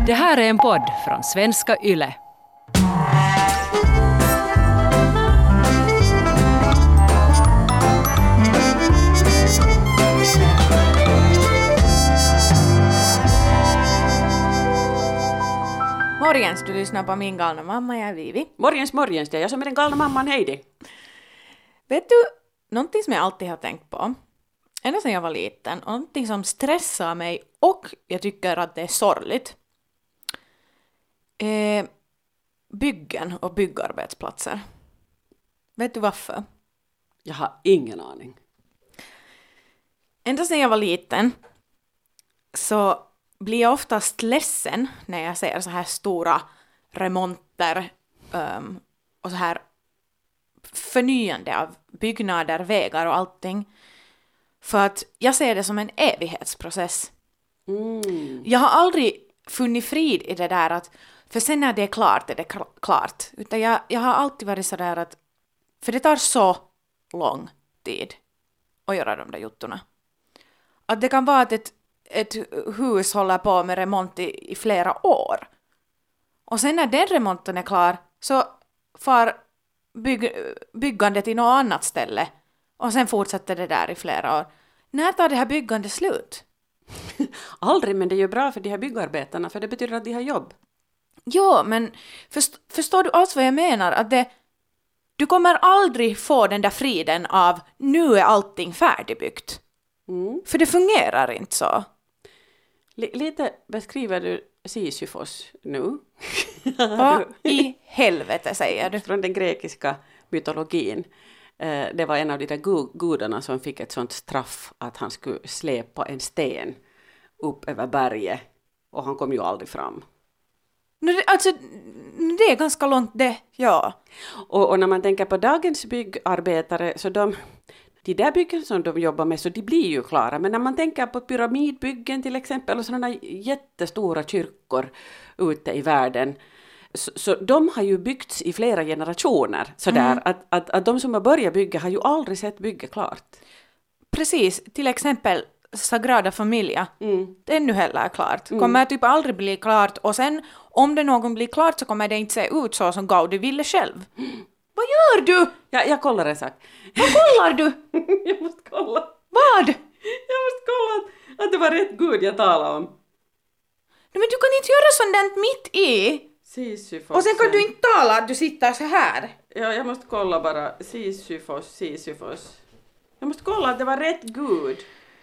Det här är en podd från Svenska Yle. Morgens, du lyssnar på min galna mamma, jag är Vivi. Morgens, det är jag som är den galna mamman, Heidi. Vet du, någonting som jag alltid har tänkt på, ända sedan jag var liten, och någonting som stressar mig och jag tycker att det är sorgligt, byggen och byggarbetsplatser. Vet du varför? Jag har ingen aning. Ända sedan jag var liten så blir jag oftast ledsen när jag ser så här stora remonter och så här förnyande av byggnader, vägar och allting. För att jag ser det som en evighetsprocess. Jag har aldrig funnit frid i det där att för sen när det är klart är det klart. Utan jag har alltid varit så där att för det tar så lång tid att göra de där juttorna. Att det kan vara att ett hus håller på med remont i flera år. Och sen när den remonten är klar så far byggandet i något annat ställe. Och sen fortsätter det där i flera år. När tar det här byggandet slut? Aldrig, men det är ju bra för de här byggarbetarna, för det betyder att de har jobb. Ja, men förstår du alls vad jag menar? Att du kommer aldrig få den där friden av nu är allting färdigbyggt. För det fungerar inte så. Lite beskriver du Sisyfos nu. Vad i helvete säger du? Från den grekiska mytologin. Det var en av de där gudarna som fick ett sånt straff att han skulle släpa en sten upp över berget. Och han kom ju aldrig fram. Alltså, det är ganska långt det, ja. Och när man tänker på dagens byggarbetare så de där byggen som de jobbar med så de blir ju klara. Men när man tänker på pyramidbyggen till exempel och sådana jättestora kyrkor ute i världen så de har ju byggts i flera generationer. Sådär, att de som har börjat bygga har ju aldrig sett bygget klart. Precis, till exempel Sagrada Familia. Det är nu heller klart. Kommer typ aldrig bli klart och sen om det någon blir klart så kommer det inte se ut så som Gaudi ville själv. Vad gör du? Jag kollar en sak. Vad kollar du? Jag måste kolla. Vad? Jag måste kolla att det var rätt Gud jag talade om. Men du kan inte göra sånt där mitt i. Sisyfos. Och sen kan du inte tala att du sitter så här. Ja, jag måste kolla bara. Sisyfos. Jag måste kolla att det var rätt Gud.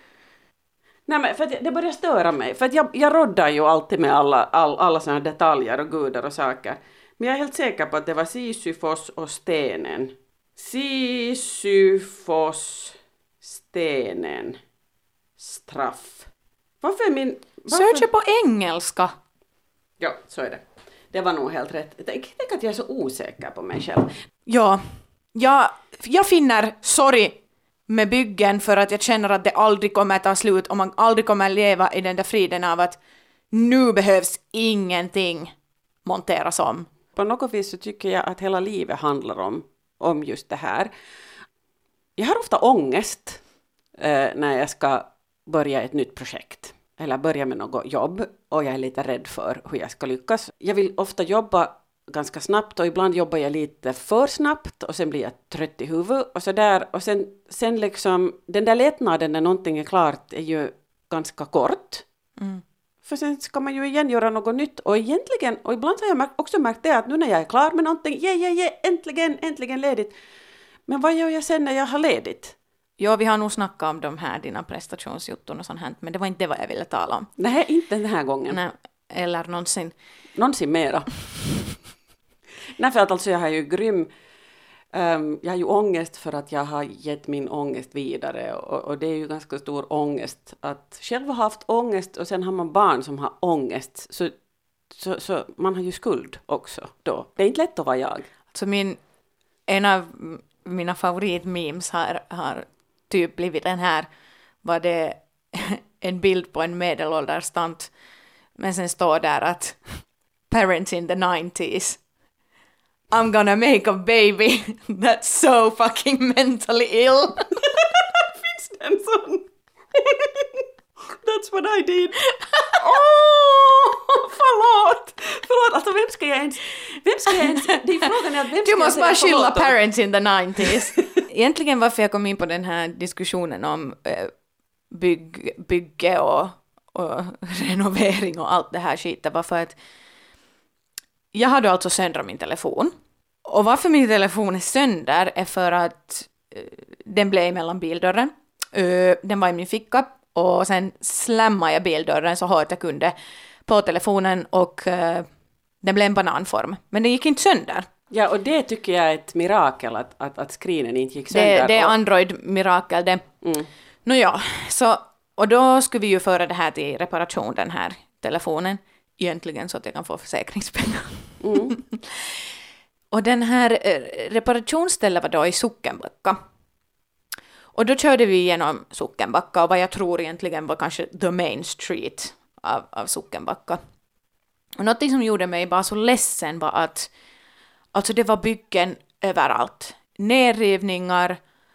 Nej, men för att det börjar störa mig. För att jag roddar ju alltid med alla såna detaljer och gudar och saker. Men jag är helt säker på att det var Sisyfos och stenen. Sisyfos, stenen, straff. Varför? Söker på engelska. Ja, så är det. Det var nog helt rätt. Tänk att jag är så osäker på mig själv. Ja, jag finner sorry med byggen för att jag känner att det aldrig kommer ta slut och man aldrig kommer leva i den där friden av att nu behövs ingenting monteras om. På något vis så tycker jag att hela livet handlar om just det här. Jag har ofta ångest när jag ska börja ett nytt projekt eller börja med något jobb och jag är lite rädd för hur jag ska lyckas. Jag vill ofta jobba ganska snabbt och ibland jobbar jag lite för snabbt och sen blir jag trött i huvudet och sådär. Och sen liksom den där lättnaden när någonting är klart är ju ganska kort. För sen ska man ju igen göra något nytt och egentligen, och ibland har jag också märkt det att nu när jag är klar med någonting, äntligen ledigt. Men vad gör jag sen när jag har ledigt? Ja, vi har nog snackat om de här dina prestationsjutton och sånt här, men det var inte vad jag ville tala om. Nej, inte den här gången. Nej, eller någonsin. Någonsin mera. Nej, för att alltså jag har ju jag har ju ångest för att jag har gett min ångest vidare och det är ju ganska stor ångest att själv ha haft ångest och sen har man barn som har ångest så man har ju skuld också då. Det är inte lätt att vara jag. Så en av mina favoritmemes har typ blivit den här, var det en bild på en medelålders tant men sen står där att parents in the 90s. I'm gonna make a baby that's so fucking mentally ill. Finns det en sån? That's what I did. Förlåt. Alltså vem ska jag ens, det är frågan är att vem ska Du jag måste säga bara skylla förlåt om? parents in the 90s. Egentligen varför jag kom in på den här diskussionen om bygge och renovering och allt det här skiten var för att jag hade alltså söndrat min telefon. Och varför min telefon är sönder är för att den blev mellan bildörren. Den var i min ficka och sen slammade jag bildörren så hårt jag kunde på telefonen och den blev en bananform. Men den gick inte sönder. Ja, och det tycker jag är ett mirakel att screenen inte gick sönder. Det är Android-mirakel det. Nåja, så och då skulle vi ju föra det här till reparation, den här telefonen. Egentligen så att jag kan få försäkringspengar. Och den här reparationsstället var då i Sockenbacka. Och då körde vi igenom Sockenbacka och vad jag tror egentligen var kanske the main street av Sockenbacka. Och något som gjorde mig bara så ledsen var att alltså det var byggen överallt. Nerrivningar,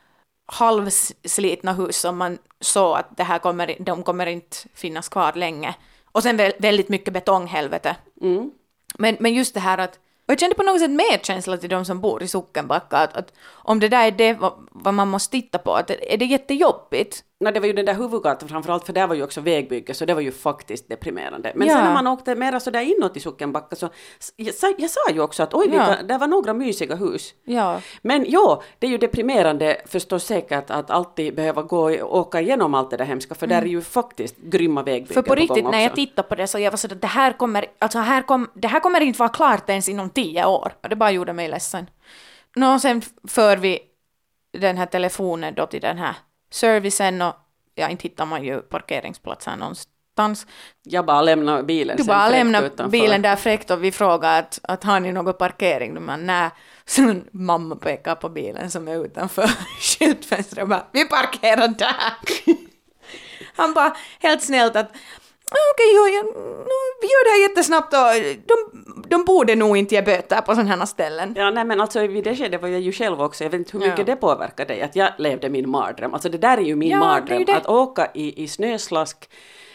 halvslitna hus som man såg att de kommer inte finnas kvar länge. Och sen väldigt mycket betonghelvete. Men just det här att, och jag kände på något sätt medkänsla till de som bor i Sockenbacka, att om det där är det vad man måste titta på, att är det jättejobbigt? Nej, det var ju den där huvudgatan framförallt, för där var ju också vägbygge, så det var ju faktiskt deprimerande. Men sen när man åkte mera så där inåt i Sockenbacka så, jag sa ju också att där var några mysiga hus. Ja. Men det är ju deprimerande förstås säkert att alltid behöva åka igenom allt det där hemska, för där är ju faktiskt grymma vägbyggen. För på riktigt, gång när jag också. tittade på det så jag var så att det här kommer inte vara klart ens inom 10 år. Och det bara gjorde mig ledsen. Sen för vi den här telefonen då till den här servicen och inte hittar man ju parkeringsplatser någonstans. Jag bara lämnar bilen. Du sen bara fräckt lämnar utanför. bilen där fräckt och vi frågar att har ni någon parkering? Men nej. Så mamma pekar på bilen som är utanför skyltfönstret och bara, vi parkerar där. Han bara helt snällt att okej, vi gör det här jättesnabbt och de borde nog inte ge böter på sådana här ställen. Ja, nej men alltså vid det skedet var jag ju själv också, jag vet inte hur mycket det påverkade dig, att jag levde min mardröm. Alltså det där är ju min mardröm, att åka i snöslask,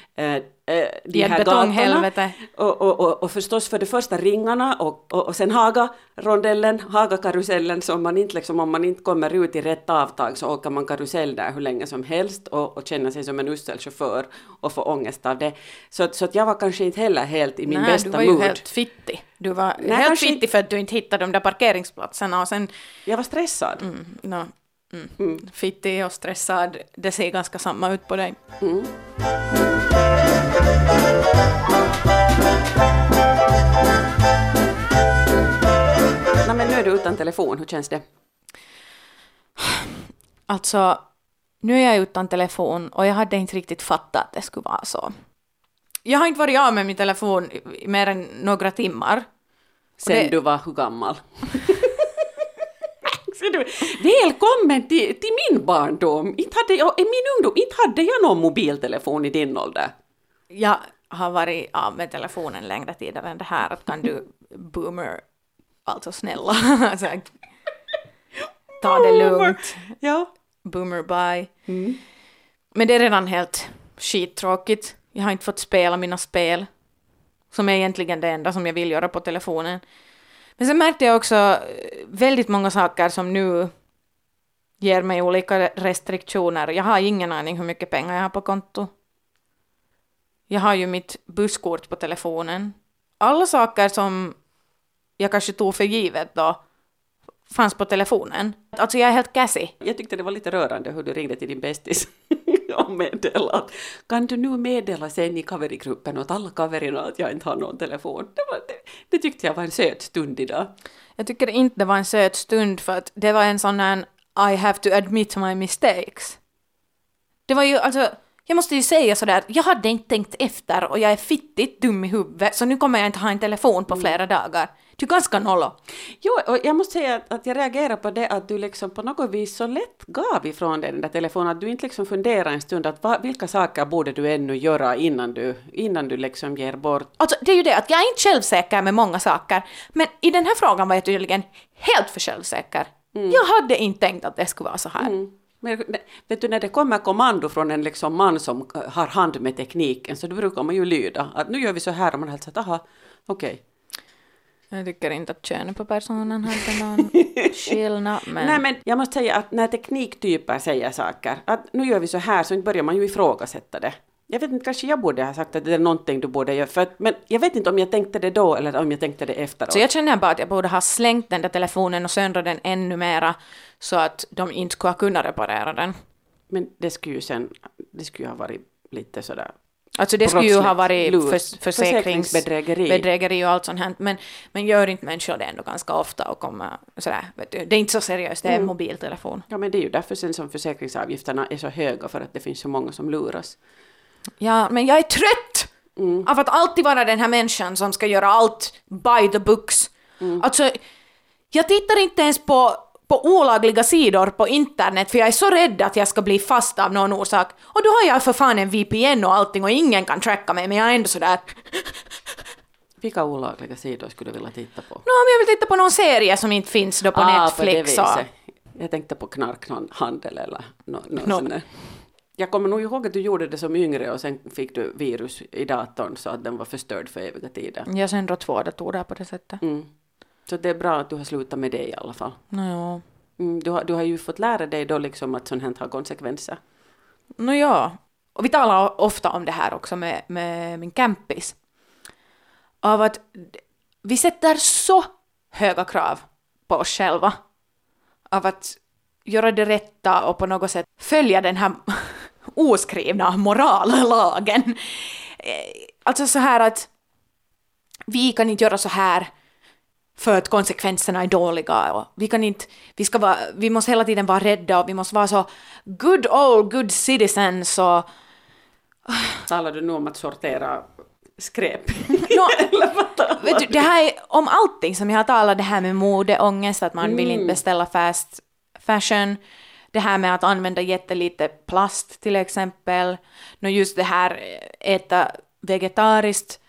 de här gatorna och förstås för det första ringarna och sen Haga-karusellen, så om man inte kommer ut i rätt avtag så åker man karusell där hur länge som helst och känner sig som en usel chaufför och får ångest av det. Så att jag var kanske inte heller helt i min bästa mood. Du var ju helt fittig. Du var helt fittig för att du inte hittade de där parkeringsplatserna och sen... Jag var stressad. Fittig och stressad, det ser ganska samma ut på dig. Men nu är du utan telefon, hur känns det? Alltså, nu är jag utan telefon och jag hade inte riktigt fattat att det skulle vara så. Jag har inte varit av med min telefon i mer än några timmar. Sen du var hur gammal? Välkommen till min barndom. Inte hade jag någon mobiltelefon i din ålder. Jag har varit av med telefonen längre tid än det här. Att kan du boomer, alltså snälla, alltså, ta det lugnt. Ja. Boomer bye. Men det är redan helt skittråkigt. Jag har inte fått spela mina spel, som är egentligen det enda som jag vill göra på telefonen. Men sen märkte jag också väldigt många saker som nu ger mig olika restriktioner. Jag har ingen aning hur mycket pengar jag har på konto. Jag har ju mitt busskort på telefonen. Alla saker som jag kanske tog för givet då fanns på telefonen. Alltså jag är helt gassy. Jag tyckte det var lite rörande hur du ringde till din bästis och meddelade att kan du nu meddela sen i kaverigruppen åt alla kaverina att jag inte har någon telefon. Det tyckte jag var en söt stund idag. Jag tycker inte det var en söt stund för att det var en sån här I have to admit my mistakes. Det var ju alltså, jag måste ju säga sådär, jag hade inte tänkt efter och jag är fittigt dum i huvudet så nu kommer jag inte ha en telefon på flera dagar. Det är ganska nollo. Jo, och jag måste säga att jag reagerar på det att du liksom på något vis så lätt gav ifrån dig den där telefonen, att du inte liksom funderar en stund att vilka saker borde du ännu göra innan du liksom ger bort. Alltså det är ju det att jag är inte självsäker med många saker, men i den här frågan var jag tydligen helt för självsäker. Jag hade inte tänkt att det skulle vara så här. Men vet du, när det kommer kommando från en liksom man som har hand med tekniken så då brukar man ju lyda att nu gör vi så här och man helt så att aha, okej. Jag tycker inte att könet på personen hade någon skillnad. Men... Nej, men jag måste säga att när tekniktyper säger saker, att nu gör vi så här, så börjar man ju ifrågasätta det. Jag vet inte, kanske jag borde ha sagt att det är någonting du borde göra, men jag vet inte om jag tänkte det då eller om jag tänkte det efteråt. Så jag känner bara att jag borde ha slängt den där telefonen och söndrat den ännu mera så att de inte skulle kunna reparera den. Men det skulle ju ha varit lite sådär... Alltså det skulle ju ha varit försäkringsbedrägeri och allt sånt här, men gör inte människor det ändå ganska ofta och kommer sådär, vet du, det är inte så seriöst, det är en mobiltelefon. Ja, men det är ju därför sen som försäkringsavgifterna är så höga, för att det finns så många som luras. Ja, men jag är trött av att alltid vara den här människan som ska göra allt by the books. Alltså, jag tittar inte ens på olagliga sidor på internet för jag är så rädd att jag ska bli fast av någon orsak. Och då har jag för fan en VPN och allting och ingen kan tracka mig, men jag är ändå sådär... Vilka olagliga sidor skulle du vilja titta på? Om jag vill titta på någon serie som inte finns då på Netflix. På det jag tänkte på knarkhandel eller något sånt där. Jag kommer nog ihåg att du gjorde det som yngre och sen fick du virus i datorn så att den var förstörd för eviga tider. Jag söndrar 2 datorer på det sättet. Så det är bra att du har slutat med det i alla fall. Ja. Du har ju fått lära dig då liksom att sånt här har konsekvenser. Ja. Och vi talar ofta om det här också med min campis. Av att vi sätter så höga krav på oss själva. Av att göra det rätta och på något sätt följa den här oskrivna morallagen. Alltså så här att vi kan inte göra så här för att konsekvenserna är dåliga. Och vi måste hela tiden vara rädda och vi måste vara så good citizens. Och... Talar du nu om att sortera skräp? Vet du, det här är om allting som jag har talat, det här med modeångest, att man vill inte beställa fast fashion. Det här med att använda jättelite plast till exempel. Just det här äta vegetariskt,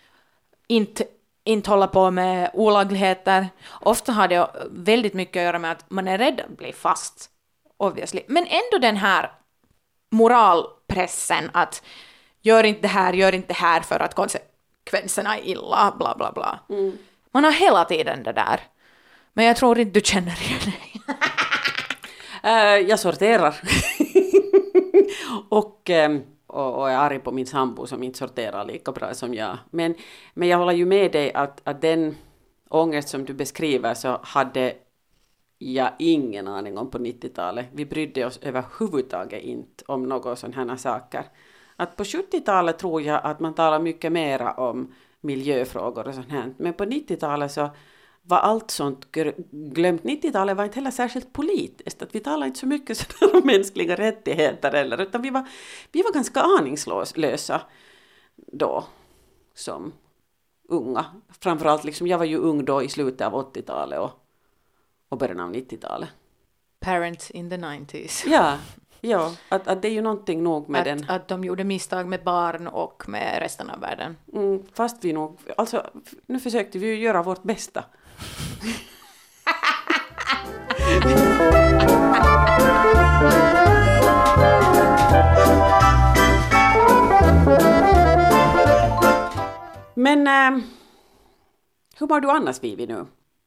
inte hålla på med olagligheter. Ofta har det väldigt mycket att göra med att man är rädd att bli fast, obviously. Men ändå den här moralpressen att gör inte det här för att konsekvenserna är illa, bla bla bla. Man har hela tiden det där. Men jag tror inte du känner igen dig. Jag sorterar. och är arg på min sambo som inte sorterar lika bra som jag. Men jag håller ju med dig att den ångest som du beskriver så hade jag ingen aning om på 90-talet. Vi brydde oss överhuvudtaget inte om några sådana här saker. Att på 70-talet tror jag att man talar mycket mer om miljöfrågor och sånt här. Men på 90-talet så var allt sånt glömt. 90-talet var inte heller särskilt politiskt. Att vi talade inte så mycket om mänskliga rättigheter utan vi var ganska aningslösa då som unga. Framförallt liksom, jag var ju ung då i slutet av 80-talet och början av 90-talet. Parents in the 90s. Ja, att det är ju någonting nog med att de gjorde misstag med barn och med resten av världen. Fast vi nog, alltså nu försökte vi ju göra vårt bästa. Men hur mår du annars, Vivi, nu?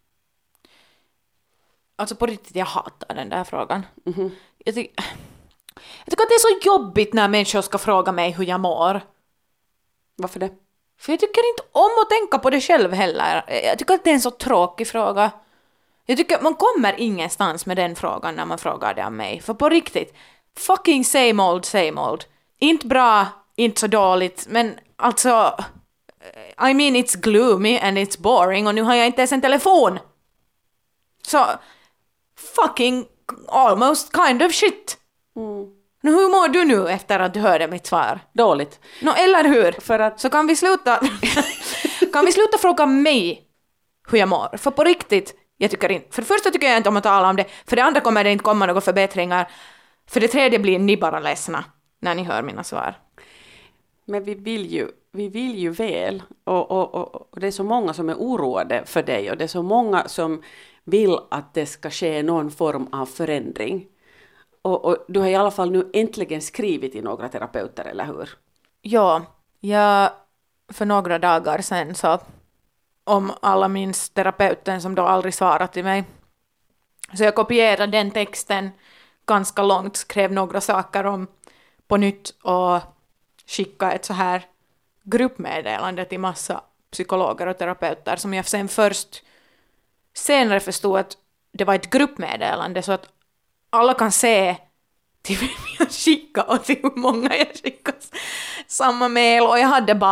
Alltså på riktigt, jag hatar den där frågan. Jag tycker att det är så jobbigt när människor ska fråga mig hur jag mår. Varför det? För jag tycker inte om att tänka på det själv heller. Jag tycker att det är en så tråkig fråga. Jag tycker att man kommer ingenstans med den frågan när man frågar det av mig. För på riktigt, fucking same old. Inte bra, inte så dåligt, men alltså... I mean, it's gloomy and it's boring och nu har jag inte ens en telefon. Så, fucking almost kind of shit. Hur mår du nu efter att du hörde mitt svar? Dåligt. Eller hur? För att... Så kan vi sluta fråga mig hur jag mår. För på riktigt, jag tycker inte... För det första tycker jag inte om att tala om det. För det andra kommer det inte komma några förbättringar. För det tredje blir ni bara ledsna när ni hör mina svar. Men vi vill ju väl. Och det är så många som är oroade för dig. Och det är så många som vill att det ska ske någon form av förändring. Och du har i alla fall nu äntligen skrivit till några terapeuter, eller hur? Ja, jag för några dagar sedan så om alla minns terapeuten som då aldrig svarade till mig. Så jag kopierade den texten ganska långt, skrev några saker om på nytt och skickade ett så här gruppmeddelande till massa psykologer och terapeuter som jag sen först senare förstod att det var ett gruppmeddelande så att alla kan se till vem jag skickade och till hur många jag skickade samma mail och jag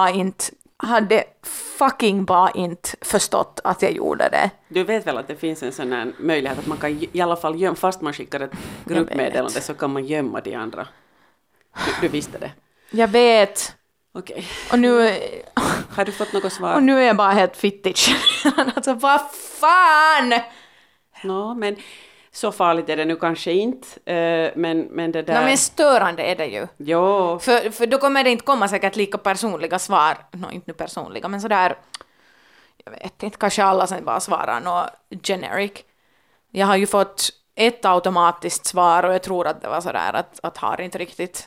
hade fucking bara inte förstått att jag gjorde det. Du vet väl att det finns en sån här möjlighet att man kan i alla fall gömma, fast man skickar ett gruppmeddelande så kan man gömma de andra. Du visste det? Jag vet. Okej. Och nu... Har du fått något svar? Och nu är jag bara helt fittig. Alltså vad fan! No, men så farligt är det nu kanske inte. Men det där... No, men störande är det ju. Jo. För då kommer det inte komma säkert lika personliga svar. Inte nu personliga, men sådär... Jag vet inte, kanske alla sen bara svarar något generic. Jag har ju fått ett automatiskt svar och jag tror att det var sådär att har inte riktigt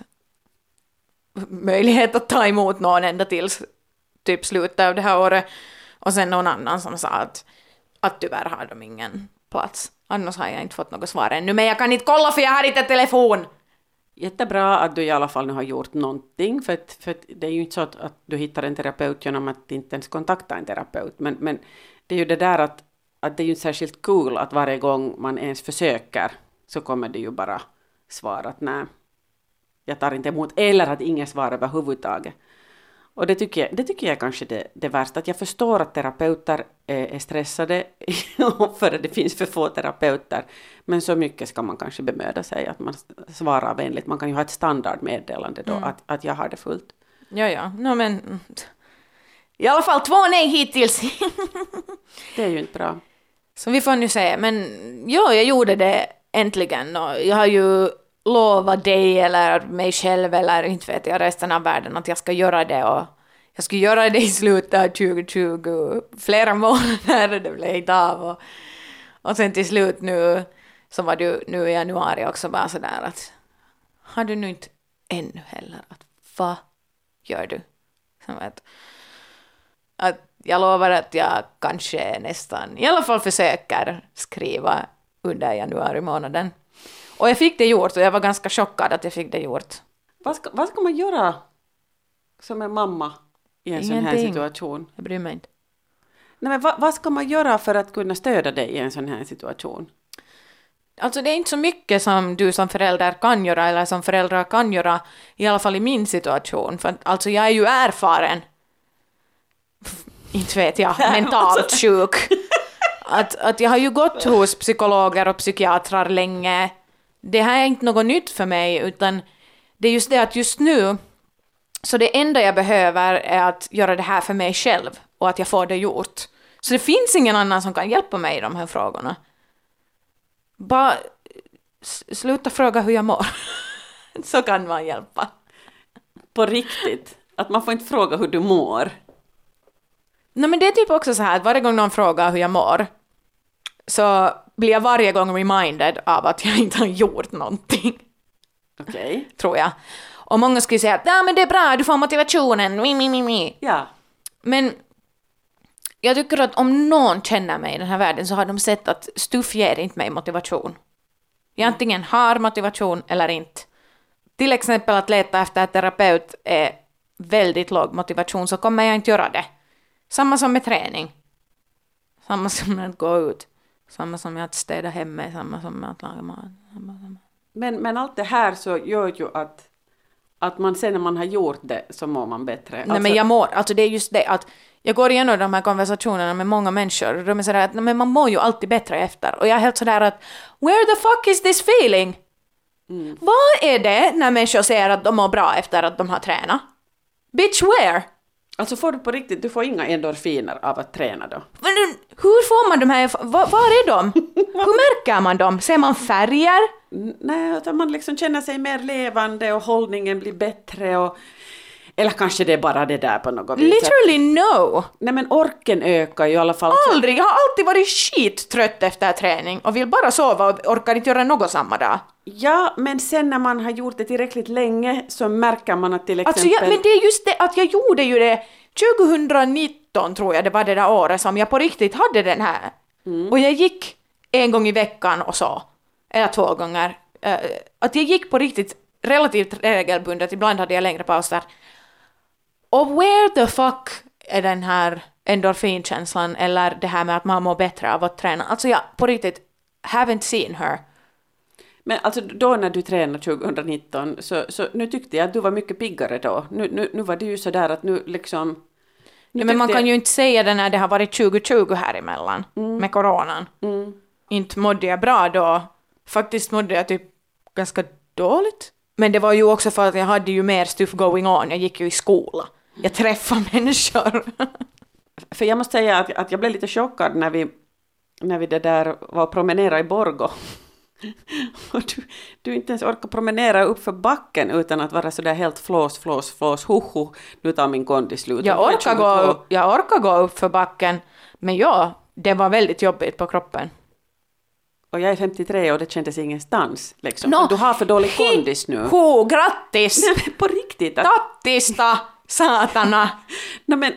möjlighet att ta emot någon ända tills typ slutet av det här året. Och sen någon annan som sa att tyvärr har de ingen plats. Annars har jag inte fått något svar ännu. Men jag kan inte kolla för jag har inte telefon. Jättebra att du i alla fall nu har gjort någonting. För det är ju inte så att du hittar en terapeut genom att inte ens kontakta en terapeut. Men det är ju det där att det är ju inte särskilt kul att varje gång man ens försöker så kommer det ju bara svar att nej, jag tar inte emot. Eller att ingen svar överhuvudtaget. Och det tycker jag är kanske det värsta. Att jag förstår att terapeuter är stressade för att det finns för få terapeuter. Men så mycket ska man kanske bemöda sig att man svarar vänligt. Man kan ju ha ett standardmeddelande då att jag har det fullt. Ja. No, men i alla fall 2 nej hittills. Det är ju inte bra. Så vi får nu se. Men jag gjorde det äntligen. Och jag har ju lovat dig eller mig själv eller inte vet jag resten av världen att jag ska göra det. Och jag ska göra det i slutet av 2020. Flera månader det blev inte av. Och sen till slut nu så var du nu i januari också bara sådär att har du nu inte ännu heller att vad gör du? Att jag lovar att jag kanske nästan i alla fall försöker skriva under januari månaden. Och jag fick det gjort och jag var ganska chockad att jag fick det gjort. Vad ska man göra som en mamma i en sån här situation? Jag bryr mig inte. Nej, men vad ska man göra för att kunna stödja dig i en sån här situation? Alltså det är inte så mycket som du som förälder kan göra eller som föräldrar kan göra, i alla fall i min situation. För alltså jag är ju erfaren, inte vet jag, mentalt sjuk. Att jag har ju gått hos psykologer och psykiatrar länge. Det här är inte något nytt för mig utan det är just det att just nu så det enda jag behöver är att göra det här för mig själv och att jag får det gjort. Så det finns ingen annan som kan hjälpa mig i de här frågorna. Bara sluta fråga hur jag mår. Så kan man hjälpa. På riktigt? Att man får inte fråga hur du mår? Nej, men det är typ också så här att varje gång någon frågar hur jag mår så blir jag varje gång reminded av att jag inte har gjort någonting. Okej. Tror jag. Och många skulle säga att men det är bra, du får motivationen. Ja. Men jag tycker att om någon känner mig i den här världen så har de sett att stuff ger inte mig motivation. Jag antingen har motivation eller inte. Till exempel att leta efter terapeut är väldigt låg motivation så kommer jag inte göra det. Samma som med träning. Samma som med att gå ut. Samma som med att städa hemma. Samma som med att laga mat. Men allt det här så gör ju att man sen när man har gjort det så mår man bättre. Nej, men jag mår, alltså det är just det att jag går igenom de här konversationerna med många människor och de är sådär att men man mår ju alltid bättre efter. Och jag är helt sådär att where the fuck is this feeling? Vad är det när människor säger att de mår bra efter att de har tränat? Bitch, where? Alltså får du på riktigt, du får inga endorfiner av att träna då? Men hur får man de här, var är de? Hur märker man dem? Ser man färger? Nej, utan man liksom känner sig mer levande och hållningen blir bättre och... Eller kanske det är bara det där på något vis. Literally no. Nej, men orken ökar ju i alla fall. Aldrig, jag har alltid varit skittrött efter träning och vill bara sova och orkar inte göra något samma dag. Ja, men sen när man har gjort det tillräckligt länge så märker man att till exempel... Alltså men det är just det att jag gjorde ju det 2019 tror jag det var det där året som jag på riktigt hade den här. Och jag gick en gång i veckan och så. Eller 2 gånger. Att jag gick på riktigt relativt regelbundet. Ibland hade jag längre pauser. Och where the fuck är den här endorfinkänslan eller det här med att man mår bättre av att träna? Alltså jag på riktigt haven't seen her. Men alltså då när du tränade 2019 så nu tyckte jag att du var mycket piggare då. Nu var det ju sådär att nu liksom... Ja, men man kan ju inte säga det när det har varit 2020 här emellan med coronan. Inte mådde jag bra då. Faktiskt mådde jag typ ganska dåligt. Men det var ju också för att jag hade ju mer stuff going on. Jag gick ju i skola. Jag träffade människor. För jag måste säga att jag blev lite chockad när vi det där var promenera i Borgå. Och du inte ens orkar promenera upp för backen utan att vara sådär helt flås, hoho, nu tar min kondis slut. Jag orkar gå upp för backen, men ja, det var väldigt jobbigt på kroppen. Och jag är 53 och det kändes ingenstans. Liksom. Du har för dålig kondis nu. Grattis! Nej, på riktigt. Tattista, satana! Nej, men,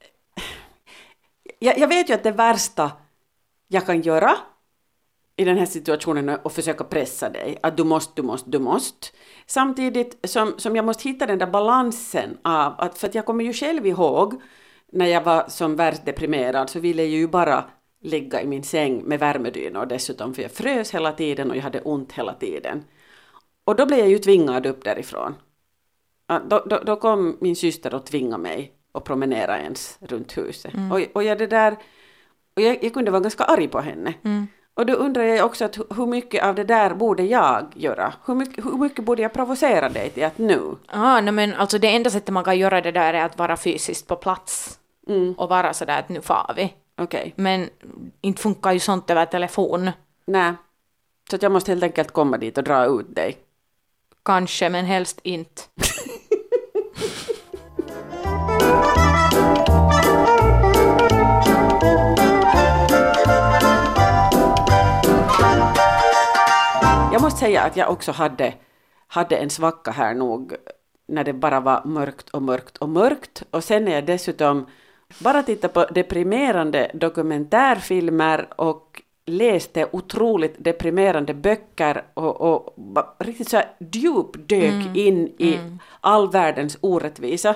jag vet ju att det värsta jag kan göra i den här situationen är att försöka pressa dig. Att du måste. Samtidigt som jag måste hitta den där balansen av att, för att jag kommer ju själv ihåg när jag var som värst deprimerad så ville jag ju bara ligga i min säng med värmedyna och dessutom för jag frös hela tiden och jag hade ont hela tiden. Och då blev jag ju tvingad upp därifrån. Då kom min syster och tvingade mig att promenera ens runt huset. Och jag kunde vara ganska arg på henne. Och då undrar jag också att hur mycket av det där borde jag göra? Hur mycket borde jag provocera dig till att nu? Men alltså det enda sättet man kan göra det där är att vara fysiskt på plats. Och vara sådär att nu far vi. Okay. Men inte funkar ju sånt över telefon. Nej, så att jag måste helt enkelt komma dit och dra ut dig. Kanske, men helst inte. Jag måste säga att jag också hade en svacka här nog när det bara var mörkt. Och sen när jag dessutom bara tittade på deprimerande dokumentärfilmer och läste otroligt deprimerande böcker och riktigt så här djupdök in i all världens orättvisa.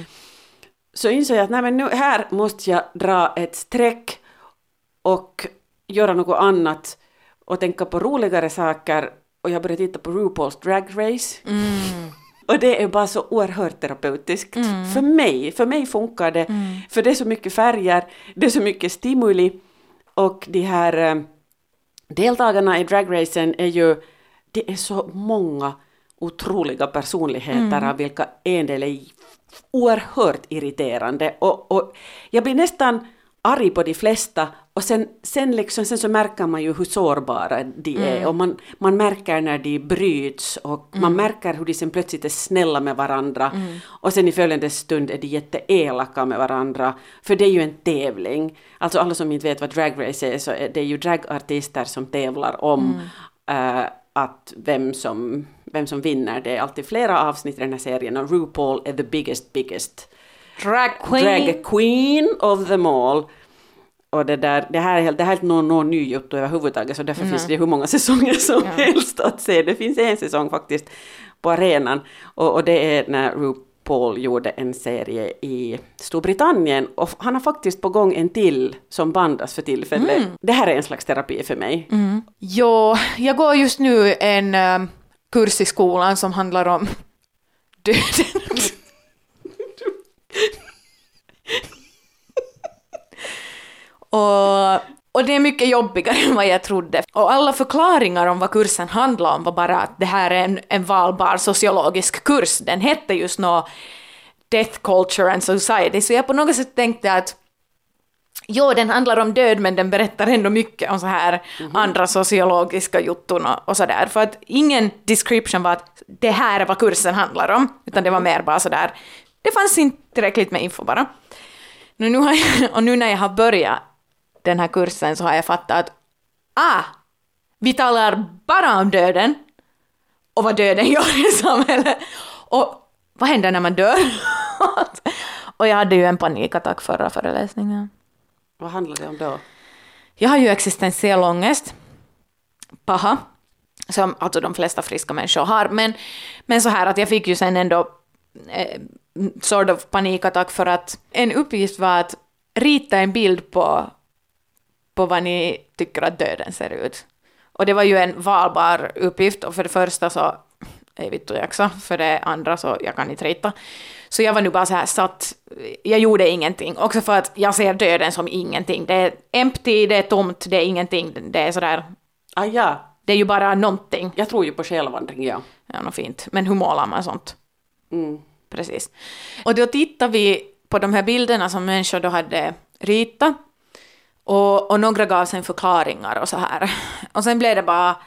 Så insåg jag att nej, men nu här måste jag dra ett streck och göra något annat och tänka på roligare saker. Och jag började titta på RuPaul's Drag Race. Och det är bara så oerhört terapeutiskt. För mig funkar det. För det är så mycket färger, det är så mycket stimuli. Och de här deltagarna i dragracen det är så många otroliga personligheter av vilka en del är oerhört irriterande. Och jag blir nästan arg på de flesta och sen så märker man ju hur sårbara de är och man märker när de bryts och man märker hur de sen plötsligt är snälla med varandra och sen i följande stund är de jätteelaka med varandra för det är ju en tävling. Alltså alla som inte vet vad Drag Race är så är det ju dragartister som tävlar om att vem som vinner. Det är alltid flera avsnitt i den här serien och RuPaul är the biggest Drag queen of them all. Och det här är helt någon ny jotto överhuvudtaget så därför finns det hur många säsonger som helst att se. Det finns en säsong faktiskt på arenan och det är när RuPaul gjorde en serie i Storbritannien och han har faktiskt på gång en till som bandas för tillfället. Det här är en slags terapi för mig. Jo, jag går just nu en kurs i skolan som handlar om döden. Och det är mycket jobbigare än vad jag trodde. Och alla förklaringar om vad kursen handlar om var bara att det här är en valbar sociologisk kurs. Den hette just Death Culture and Society. Så jag på något sätt tänkte att den handlar om död men den berättar ändå mycket om så här andra sociologiska jutton och sådär. För att ingen description var att det här är vad kursen handlar om. Utan det var mer bara sådär. Det fanns inte tillräckligt med info bara. Nu när jag har börjat den här kursen så har jag fattat att vi talar bara om döden och vad döden gör i samhället och vad händer när man dör Och jag hade ju en panikattack förra föreläsningen. Vad handlar det om då? Jag har ju existentiell ångest. Paha. Som alltså de flesta friska människor har. Men så här att jag fick ju sen ändå sort of panikattack för att en uppgift var att rita en bild på vad ni tycker att döden ser ut. Och det var ju en valbar uppgift, och för det första så är vi också, för det andra så jag kan inte rita. Så jag var nu bara så här satt, jag gjorde ingenting. Också för att jag ser döden som ingenting. Det är empty, det är tomt, det är ingenting. Det är sådär, Ja. det är ju bara någonting. Jag tror ju på självvandring, ja. Ja, något fint. Men hur målar man sånt? Mm. Precis. Och då tittar vi på de här bilderna som människor då hade ritat. Och några gav sen förklaringar och så här. Och sen blev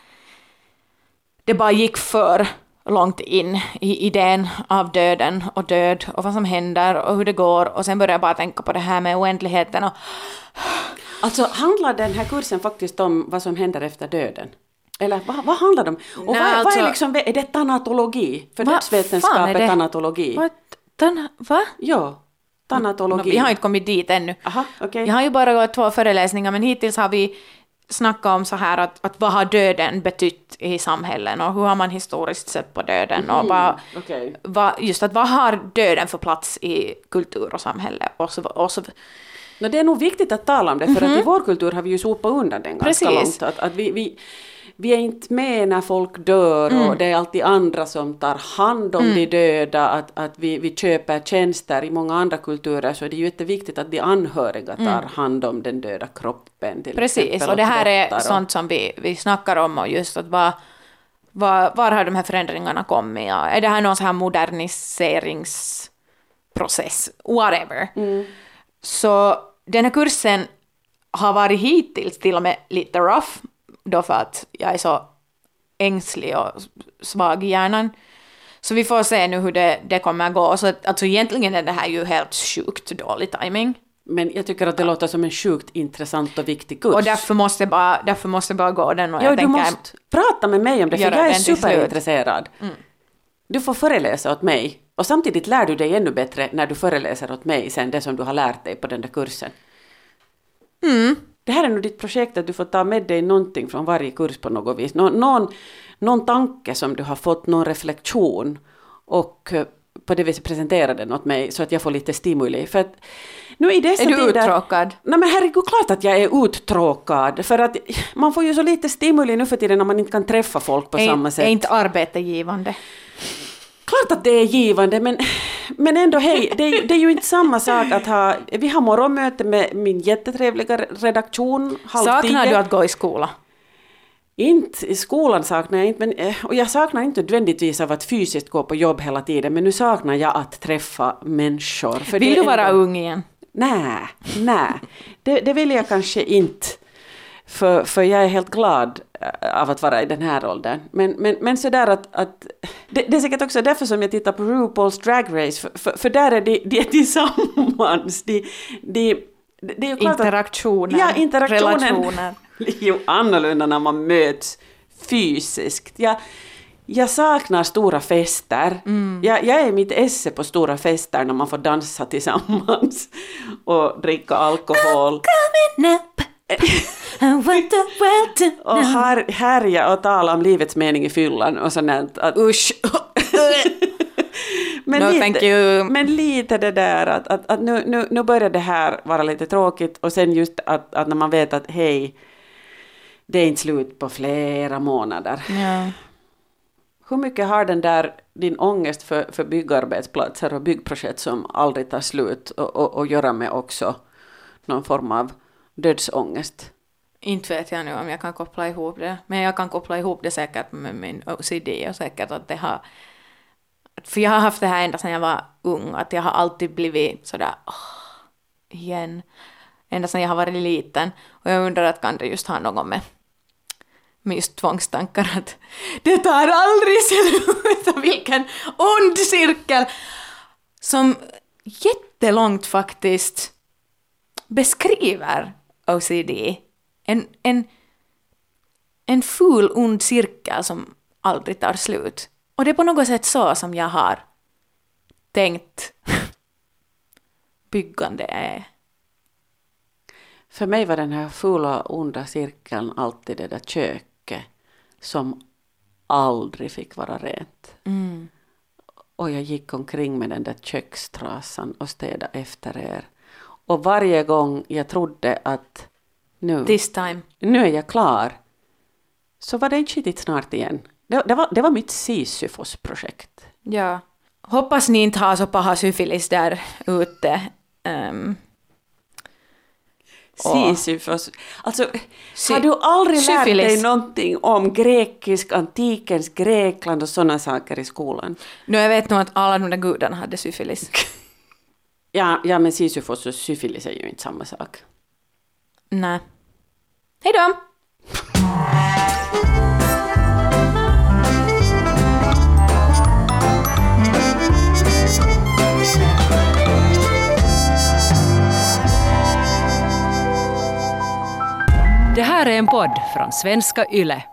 det bara gick för långt in i idén av döden och död och vad som händer och hur det går. Och sen började jag bara tänka på det här med oändligheten. Och Alltså handlar den här kursen faktiskt om vad som händer efter döden? Eller vad handlar det om? Och Nej, vad alltså, är liksom, är det tanatologi? För vad dödsvetenskap fan är är det? tanatologi. Va? Ja, tanatologi. Vi har inte kommit dit ännu. Aha, okej. Jag har ju bara gått 2 föreläsningar, men hittills har vi snackat om så här att vad har döden betytt i samhällen och hur har man historiskt sett på döden och okej. vad har döden för plats i kultur och samhälle och så. Det är nog viktigt att tala om det, för att i vår kultur har vi ju sopat undan den ganska Precis. långt. Att vi är inte med när folk dör och det är alltid andra som tar hand om de döda, att vi köper tjänster. I många andra kulturer så är det ju jätteviktigt att de anhöriga tar hand om den döda kroppen. Precis, och det här är sånt som vi snackar om, och just att var har de här förändringarna kommit? Ja, är det här någon sån här moderniseringsprocess? Whatever. Så den här kursen har varit hittills till och med lite rough, då för att jag är så ängslig och svag i hjärnan. Så vi får se nu hur det kommer att gå. Så att, alltså egentligen är det här ju helt sjukt dålig timing. Men jag tycker att det låter som en sjukt intressant och viktig kurs. Och därför måste jag bara gå den. Och Ja, jag du tänker, måste prata med mig om det, för göra jag är den till superintresserad. Du får föreläsa åt mig. Och samtidigt lär du dig ännu bättre när du föreläser åt mig sen det som du har lärt dig på den där kursen. Det här är nog ditt projekt, att du får ta med dig någonting från varje kurs på något vis. Någon tanke som du har fått, någon reflektion, och på det viset presentera den åt mig så att jag får lite stimuli. För att nu i dessa är du tider, uttråkad? Nej, men herregud, klart att jag är uttråkad. För att man får ju så lite stimuli nu för tiden när man inte kan träffa folk på samma sätt. Är inte arbete givande? Klart att det är givande, men ändå hej, det är ju inte samma sak att ha... Vi har morgonmöte med min jättetrevliga redaktion. 9:30. Saknar du att gå i skola? Inte i skolan saknar jag inte, och jag saknar inte nödvändigtvis av att fysiskt gå på jobb hela tiden, men nu saknar jag att träffa människor. För Vill du vara ung igen? Nej, det vill jag kanske inte. För jag är helt glad av att vara i den här åldern. Men sådär att det är säkert också därför som jag tittar på RuPaul's Drag Race. För där är de tillsammans. Det är ju klart interaktionen, att, interaktionen relationer. är ju annorlunda när man möts fysiskt. Jag saknar stora fester. Jag är i mitt esse på stora fester när man får dansa tillsammans och dricka alkohol. Och härja och tala om livets mening i fyllan och sånt. Usch! Men lite det där att nu börjar det här vara lite tråkigt, och sen just att när man vet att hej, det är inte slut på flera månader. Ja. Hur mycket har din ångest för byggarbetsplatser och byggprojekt som aldrig tar slut och göra med också någon form av dödsångest? Inte vet jag nu om jag kan koppla ihop det. Men jag kan koppla ihop det säkert med min OCD, och säkert att det har... För jag har haft det här ända sedan jag var ung, att jag har alltid blivit sådär igen. Ända sedan jag har varit liten. Och jag undrar att kan det just ha något med just tvångstankar, att det tar aldrig slut. Vilken ond cirkel som jättelångt faktiskt beskriver OCD. En ful ond cirkel som aldrig tar slut. Och det är på något sätt så som jag har tänkt byggande är. För mig var den här fula onda cirkeln alltid det där köket som aldrig fick vara rent. Och jag gick omkring med den där kökstrasan och städade efter er. Och varje gång jag trodde att This time. nu är jag klar, så var det inte skitigt snart igen. Det var mitt Sisyfos-projekt. Ja. Hoppas ni inte har så paha syfilis där ute. Sisyfos. Alltså, har du aldrig lärt dig någonting om antikens Grekland och sådana saker i skolan? Nu jag vet nog att alla de där gudarna hade syfilis. Ja, men Sisyfos och syfilis är ju inte samma sak. Nej. Hej då! Det här är en podd från svenska YLE.